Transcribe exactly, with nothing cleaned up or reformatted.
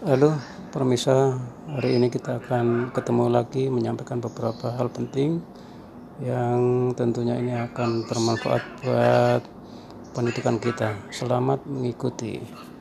Halo, permisa. Hari ini kita akan ketemu lagi menyampaikan beberapa hal penting yang tentunya ini akan bermanfaat buat pendidikan kita. Selamat mengikuti.